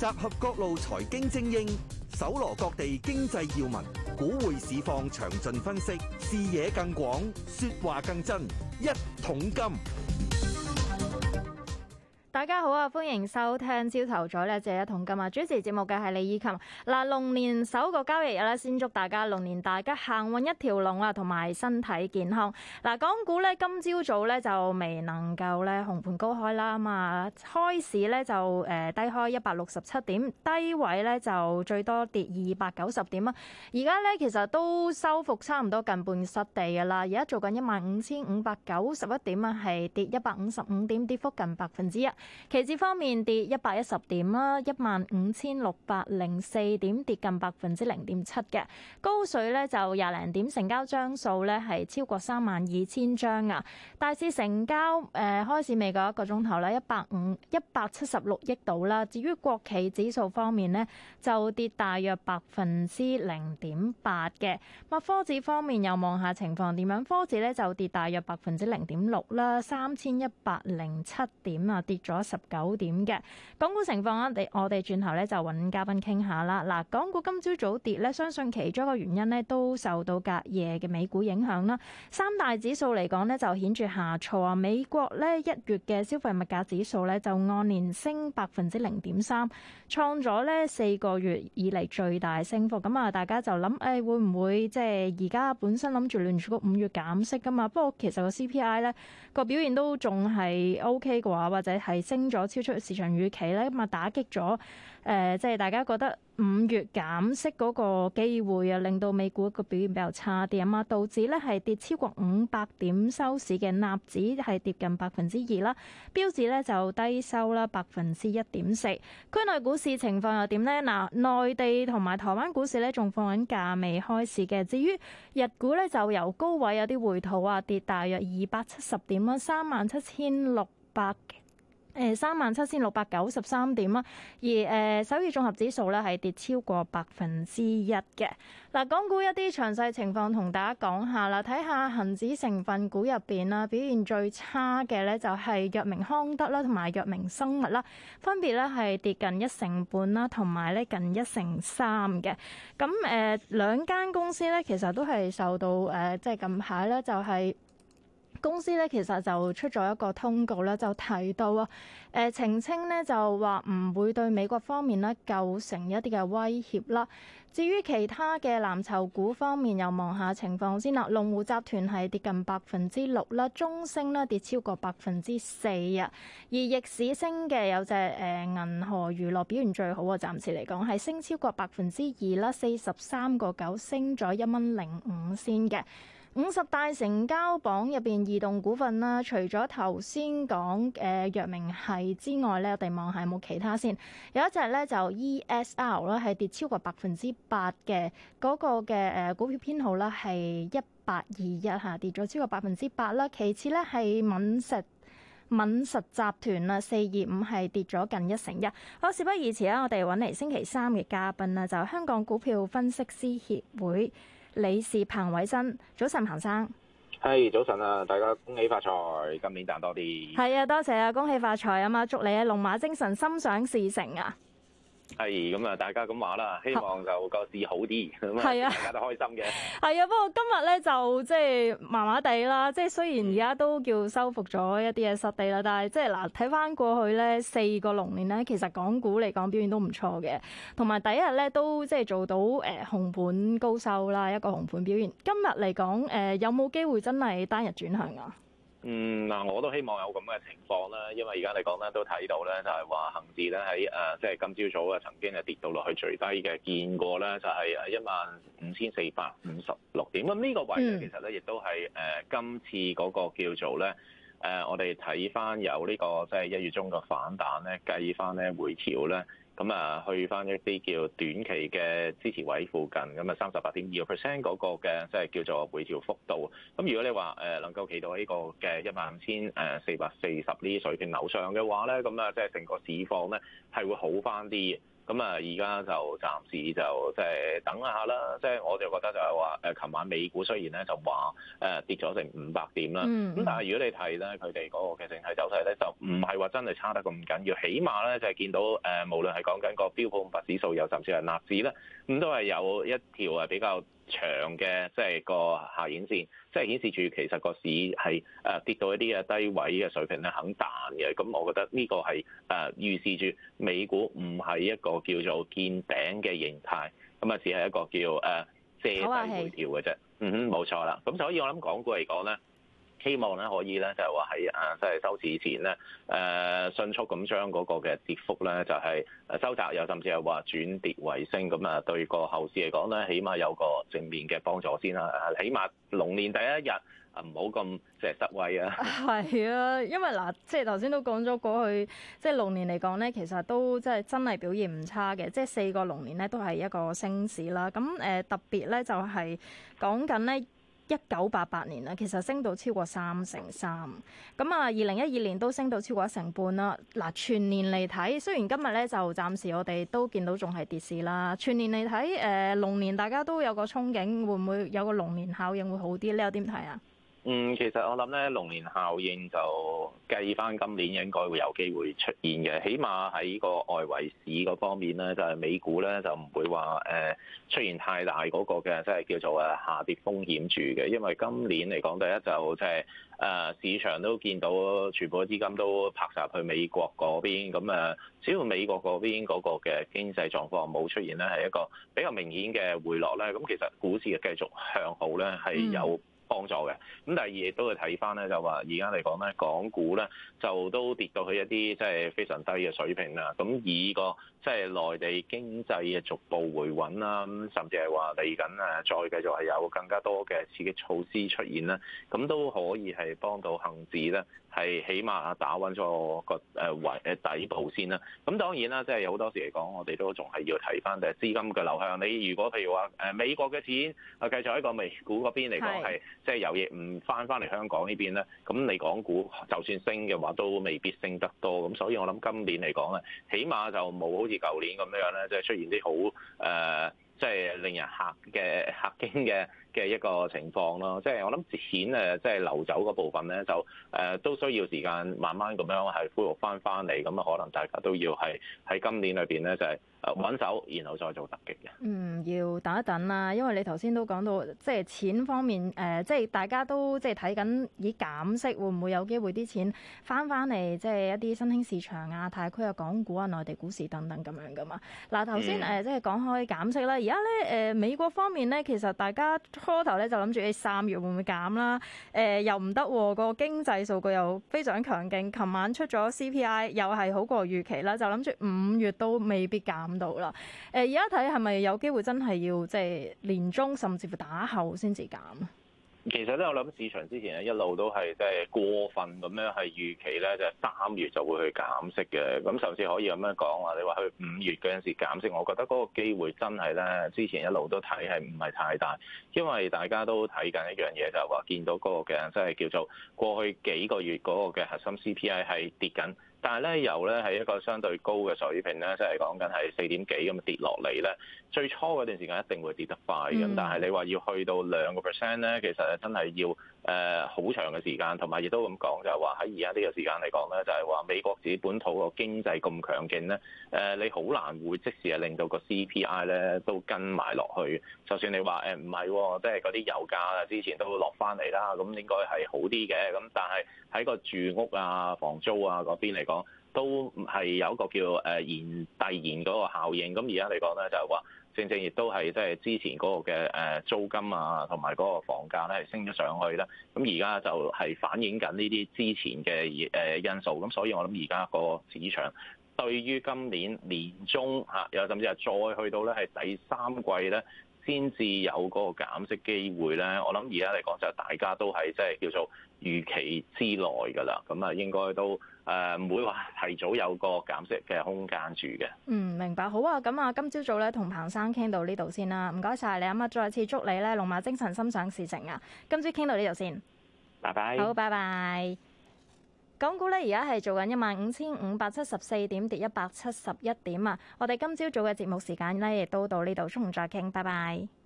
集合各路財經精英，搜羅各地經濟要聞，股匯市況詳盡分析，視野更廣，說話更真。一桶金。 大家好啊，歡迎收聽朝頭早呢這一桶金啊！主持節目嘅係李以琴。嗱，龍年首個交易日咧，先祝大家龍年大吉，行運一條龍啊，同埋身體健康。嗱，港股咧今朝早咧就未能夠咧紅盤高開啦嘛，開市咧就低開167點，低位咧就最多跌290點啊！而家咧其實都收復差唔多近半失地㗎啦，而家做緊15591點啊，係跌155點，跌幅近1%。期指方面跌110點啦，15604點，跌近0.7%嘅。高水咧就20零點，成交張數咧係超過32000張啊。大市成交開市未夠一個鐘頭啦，176億度啦。至於國企指數方面呢，就跌大約0.8%嘅。科指方面又望下情況點樣？科指咧就跌大約0.6%啦，3107點啊，跌咗19點嘅。港股情況我哋轉頭咧就揾嘉賓傾下啦。嗱，港股今朝早跌咧，相信其中一個原因咧都受到隔夜嘅美股影響啦。三大指數嚟講咧就顯著下挫啊。美國咧1月嘅消費物價指數咧就按年升0.3%，創咗咧4個月以嚟最大升幅。咁啊，大家就諗會唔會即係而家本身諗住聯儲局5月減息噶嘛？不過其實個 CPI 咧個表現都仲係 OK 嘅話，或者係升咗超出市場預期咧，咁啊打擊咗即係大家覺得5月減息嗰個機會啊，令到美股個表現比較差啲啊嘛。道指咧係跌超過500點收市嘅，納指係跌近2%啦，標指咧就低收啦1.4%。區內股市情況又點呢？嗱，內地同埋台灣股市咧仲放緊假未開市嘅。至於日股咧就由高位有啲回吐啊，跌大約270點啦，37693點啦。而首爾綜合指數咧係跌超過1%嘅。嗱，港股一啲詳細情況同大家講下啦，睇下恒指成分股入邊啦，表現最差嘅咧就係藥明康德啦，同埋藥明生物啦，分別咧係跌近1成半啦，同埋咧近1成3嘅。咁兩間公司咧其實都係受到即係近排咧就係。公司咧其實就出咗一個通告咧，就提到啊，澄清咧就話唔會對美國方面咧構成一啲嘅威脅啦。至於其他嘅藍籌股方面，又望下情況先啦。龍湖集團係跌近6%啦，中升咧跌超過4%啊。而逆市升嘅有隻銀河娛樂表現最好啊，暫時嚟講係升超過2%啦，43.9升咗1.05先嘅。50大成交榜入邊，異動股份啦，除咗頭先講藥明系之外咧，我哋望下有冇其他先。有一隻咧就 ESR 啦，係跌超過8%嘅，嗰個嘅股票編號啦係1821嚇，跌咗超過8%啦。其次咧係敏實集團啦，425係跌咗近1成1。好，事不宜遲啦，我哋揾嚟星期三嘅嘉賓啦，就香港股票分析師協會理事彭偉新。早晨，彭生。 係早晨啊！大家恭喜發財，今年賺多啲。 係啊，多謝啊，恭喜發財啊嘛！祝你啊龍馬精神，心想事成啊！ 係咁啊，大家咁話啦，希望就個市好啲，咁啊，大家都開心嘅。 係啊，不過今日咧就即係麻麻地啦，即係雖然而家都叫收復咗一啲嘅失地啦，但係即係嗱睇翻過去咧4個龍年咧，其實港股嚟講表現都唔錯嘅，同埋第一日咧都即係做到紅盤高收啦，一個紅盤表現。今日嚟講有冇機會真係單日轉向啊？ 嗱，我都希望有咁嘅情況啦，因為而家嚟講咧都睇到咧，就係話恒指咧喺即係今朝早啊曾經係跌到落去最低嘅，見過咧就係15456點。咁呢個位咧其實咧亦都係今次嗰個叫做咧我哋睇翻有呢個即係1月中嘅反彈咧，計翻咧回調咧。咁啊，去翻一啲叫短期嘅支持位附近，咁啊38.2% 嗰個嘅即係叫做回調幅度。咁如果你話能夠企到呢個嘅15440呢啲水平樓上嘅話咧，咁啊即係成個市況咧係會好翻啲。 咁啊，而家就暫時就即係等一下啦。即係我就覺得就係話琴晚美股雖然咧就話跌咗成500點啦，咁但係如果你睇咧佢哋嗰個嘅整體走勢咧，就唔係話真係差得咁緊要。起碼咧就係見到無論係講緊個標普500指數又甚至係納指咧，咁都係有一條比較長嘅即係個下影線，即係顯示住其實個市係跌到一啲嘅低位嘅水平咧肯彈嘅。咁我覺得呢個係預示住美股唔係一個叫做見頂嘅形態，咁啊只係一個叫借勢回調嘅啫。冇錯啦。咁所以我諗港股嚟講咧，希望咧可以咧就係話喺即係收市前咧迅速咁將嗰個嘅跌幅咧就係收窄，又甚至係話轉跌為升，咁啊對個後市嚟講咧，起碼有個正面嘅幫助先啦。起碼龍年第一日唔好咁即係失威啊！ 係啊，因為嗱，即係頭先都講咗過去，即係龍年嚟講咧，其實都即係真係表現唔差嘅，即係4個龍年咧都係一個升市啦。咁特別咧就係講緊咧。1988年啦，其實升到超過3成3，咁啊2012年都升到超過1成半啦。嗱，全年嚟睇，雖然今日咧就暫時我哋都見到仲係跌市啦，全年嚟睇龍年大家都有個憧憬，會唔會有個龍年效應會好啲？你有點睇啊？ 其實我諗咧，龍年效應就計翻今年應該會有機會出現嘅，起碼喺個外圍市嗰方面咧，就係美股咧就唔會話出現太大嗰個嘅即係叫做下跌風險住嘅，因為今年嚟講，第一就即係市場都見到全部資金都拍晒去美國嗰邊，咁只要美國嗰邊嗰個嘅經濟狀況冇出現咧係一個比較明顯嘅回落咧，咁其實股市嘅繼續向好咧係有幫助嘅。咁第二亦都會睇翻咧，就話而家嚟講咧，港股咧就都跌到去一啲即係非常低嘅水平啦。咁以個即係內地經濟嘅逐步回穩啦，咁甚至係話嚟緊再繼續係有更加多嘅刺激措施出現啦，咁都可以係幫到恆指咧係起碼打穩咗個底部先啦。咁當然啦，即係有好多時嚟講，我哋都仲係要睇翻誒資金嘅流向。你如果譬如話美國嘅錢繼續喺個美股嗰邊嚟講係即係有嘢唔翻嚟香港呢邊咧，咁你港股就算升嘅話，都未必升得多。咁所以我諗今年嚟講咧，起碼就冇好似舊年咁樣咧，即係出現啲好即係令人嚇驚嘅一個情況咯。即係我諗錢即係流走嗰部分咧，就都需要時間慢慢咁樣係恢復翻嚟。咁啊，可能大家都要係喺今年裏邊咧，就係穩手，然後再做突擊嘅。 要等一等啦，因為你頭先都講到，即係錢方面，即係大家都即係睇緊以減息會唔會有機會啲錢翻嚟，即係一啲新興市場啊、太區啊、港股啊、內地股市等等咁樣噶嘛。嗱，頭先即係講開減息啦，而家咧美國方面咧，其實大家初頭咧就諗住3月會唔會減啦，又唔得喎，個經濟數據又非常強勁，琴晚出咗 CPI 又係好過預期啦，就諗住5月都未必減到啦。而家睇係咪有機會真係要即係年中甚至乎打後先至減？ 其實咧，我諗市場之前咧一路都係即係過分咁樣係預期咧，就係3月就會去減息嘅。咁甚至可以咁樣講話，你話去5月嗰陣時減息，我覺得嗰個機會真係咧，之前一路都睇係唔係太大，因為大家都睇緊一樣嘢，就係話見到嗰個嘅即係叫做過去幾個月嗰個嘅核心 CPI 係跌緊。但係咧，由咧係一個相對高嘅水平咧，即係講緊係4點幾咁跌落嚟咧。最初嗰段時間一定會跌得快嘅，但係你話要去到2%咧，其實真係要好長嘅時間，同埋亦都咁講就係話喺而家呢個時間嚟講咧，就係話美國自己本土個經濟咁強勁咧，你好難會即時係令到個 CPI 咧都跟埋落去。就算你話唔係喎，即係嗰啲油價啊之前都落翻嚟啦，咁應該係好啲嘅。咁但係喺個住屋啊、房租啊嗰邊嚟講，都係有一個叫遞延嗰個效應。咁而家嚟講咧，就係話正正亦都係即係之前嗰個嘅租金啊，同埋嗰個房價咧係升咗上去啦。咁而家就係反映緊呢啲之前嘅因素。咁所以我諗而家個市場對於今年年中又甚至係再去到咧係第3季咧，先至有嗰個減息機會咧。我諗而家嚟講就大家都係即係叫做預期之內㗎啦。咁啊應該都唔會話提早有個減息嘅空間住嘅。 明白。好啊，咁啊今朝早咧同彭生傾到呢度先啦。唔該晒你啊，再次祝你咧龍馬精神心想事成啊！今朝傾到呢度先。 拜拜。 好，拜拜。 港股咧而家係做緊15,574點，跌171點啊！我哋今朝早嘅節目時間咧，亦都到呢度，中午再傾，拜拜。